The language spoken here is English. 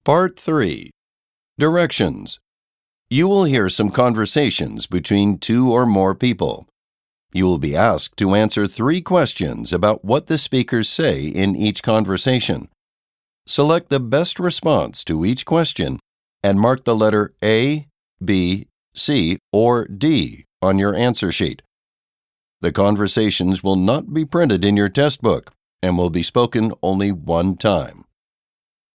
Part 3. Directions. You will hear some conversations between two or more people. You will be asked to answer 3 questions about what the speakers say in each conversation. Select the best response to each question and mark the letter A, B, C, or D on your answer sheet. The conversations will not be printed in your test book and will be spoken only one time.